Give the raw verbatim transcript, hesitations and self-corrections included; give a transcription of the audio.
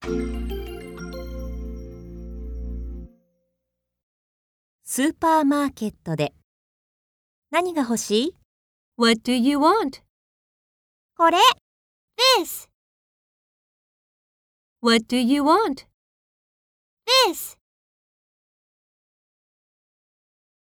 スーパーマーケットで何が欲しい？ What do you want? これ This What do you want? This